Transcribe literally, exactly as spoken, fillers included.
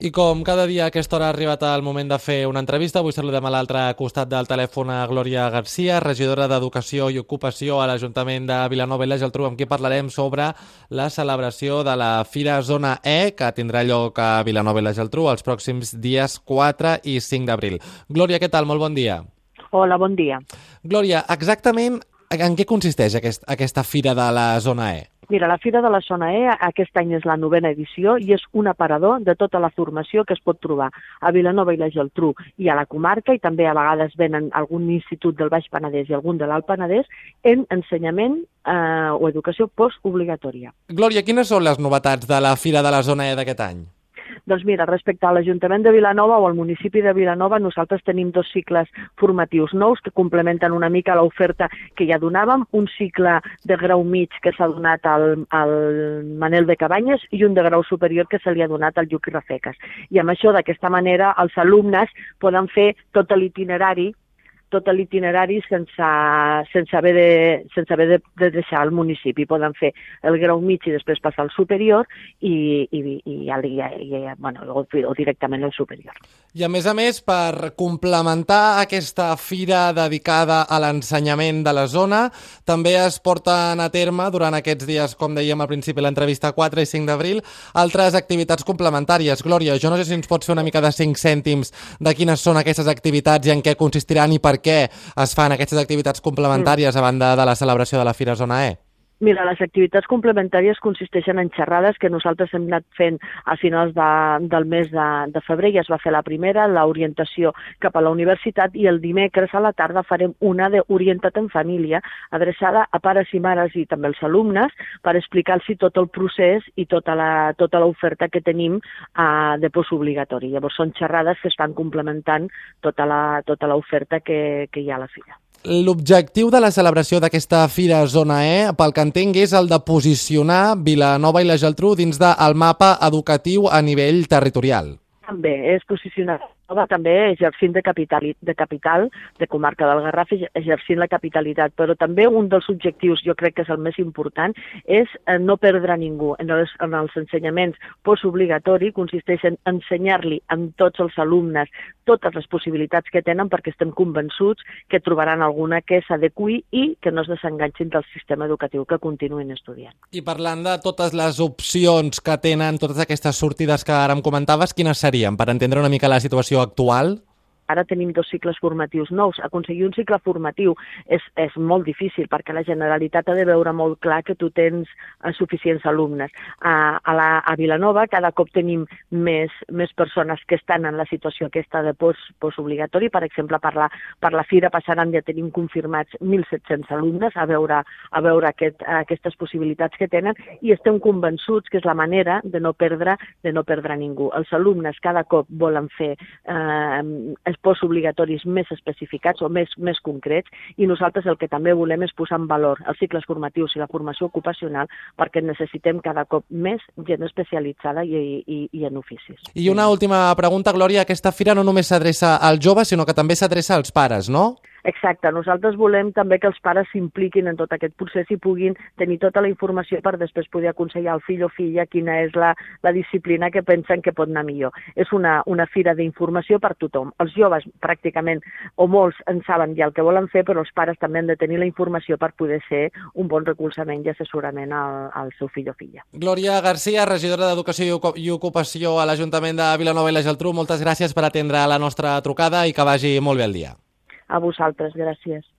I com cada dia a aquesta hora ha arribat el moment de fer una entrevista, avui saludem a l'altre costat del telèfon a Glòria Garcia, regidora d'Educació i Ocupació a l'Ajuntament de Vilanova i la Geltrú, amb qui parlarem sobre la celebració de la Fira Zona E, que tindrà lloc a Vilanova i la Geltrú els pròxims dies quatre i cinc d'abril. Glòria, què tal? Molt bon dia. Hola, bon dia. Glòria, exactament en què consisteix aquest, aquesta Fira de la Zona E? Mira, la Fira de la Zona E aquest any és la novena edició i és un aparador de tota la formació que es pot trobar a Vilanova i la Geltrú i a la comarca, i també a vegades venen algun institut del Baix Penedès i algun de l'Alt Penedès en ensenyament eh, o educació postobligatòria. Glòria, quines són les novetats de la Fira de la Zona E d'aquest any? Doncs mira, respecte a l'Ajuntament de Vilanova o al municipi de Vilanova, nosaltres tenim dos cicles formatius nous que complementen una mica l'oferta que ja donàvem, un cicle de grau mig que s'ha donat al, al Manel de Cabanyes i un de grau superior que se li ha donat al Lluc i Rafeques. I amb això, d'aquesta manera, els alumnes poden fer tot l'itinerari tot l'itinerari sense, sense haver, de, sense haver de, de deixar el municipi. Poden fer el grau mig i després passar al superior i, i, i, i, i bueno, o, o directament al superior. I a més a més, per complementar aquesta fira dedicada a l'ensenyament de la zona, també es porten a terme durant aquests dies, com dèiem al principi de l'entrevista, quatre i cinc d'abril, altres activitats complementàries. Glòria, jo no sé si ens pots fer una mica de cinc cèntims de quines són aquestes activitats i en què consistiran i per què es fan aquestes activitats complementàries a banda de la celebració de la Fira Zona E? Mira, les activitats complementàries consisteixen en xerrades que nosaltres hem anat fent a finals de, del mes de, de febrer. Ja es va fer la primera, l'orientació cap a la universitat, i el dimecres a la tarda farem una d'Orienta't en Família, adreçada a pares i mares i també als alumnes, per explicar-los tot el procés i tota la, tota l'oferta que tenim uh, de postobligatori. Llavors són xerrades que estan complementant tota la, tota l'oferta que, que hi ha a la fira. L'objectiu de la celebració d'aquesta Fira Zona E, pel que entenc, és el de posicionar Vilanova i la Geltrú dins del mapa educatiu a nivell territorial. També és posicionar també exercint de capital, de capital, de comarca del Garraf, exercint la capitalitat, però també un dels objectius, jo crec que és el més important, és no perdre ningú. En els, en els ensenyaments postobligatoris consisteix en ensenyar-li a tots els alumnes totes les possibilitats que tenen, perquè estem convençuts que trobaran alguna que s'adequi i que no es desenganxin del sistema educatiu, que continuïn estudiant. I parlant de totes les opcions que tenen, totes aquestes sortides que ara em comentaves, quines serien, per entendre una mica la situació actual? Ara tenim dos cicles formatius nous. Aconseguir un cicle formatiu és, és molt difícil perquè la Generalitat ha de veure molt clar que tu tens uh, suficients alumnes. Uh, a, la, a Vilanova cada cop tenim més, més persones que estan en la situació aquesta de post, postobligatori. Per exemple, per la, per la Fira passaran, ja tenim confirmats mil set-cents alumnes a veure, a veure aquest, aquestes possibilitats que tenen, i estem convençuts que és la manera de no perdre, de no perdre ningú. Els alumnes cada cop volen fer eh, postobligatoris més especificats o més, més concrets, i nosaltres el que també volem és posar en valor els cicles formatius i la formació ocupacional, perquè necessitem cada cop més gent especialitzada i, i, i en oficis. I una última pregunta, Glòria. Aquesta fira no només s'adreça als joves, sinó que també s'adreça als pares, no? Exacte, nosaltres volem també que els pares s'impliquin en tot aquest procés i puguin tenir tota la informació per després poder aconsellar al fill o filla quina és la, la disciplina que pensen que pot anar millor. És una, una fira d'informació per tothom. Els joves pràcticament, o molts, en saben ja el que volen fer, però els pares també han de tenir la informació per poder ser un bon recolzament i assessorament al, al seu fill o filla. Glòria Garcia, regidora d'Educació i Ocupació a l'Ajuntament de Vilanova i la Geltrú, moltes gràcies per atendre la nostra trucada i que vagi molt bé el dia. A vosaltres, gràcies.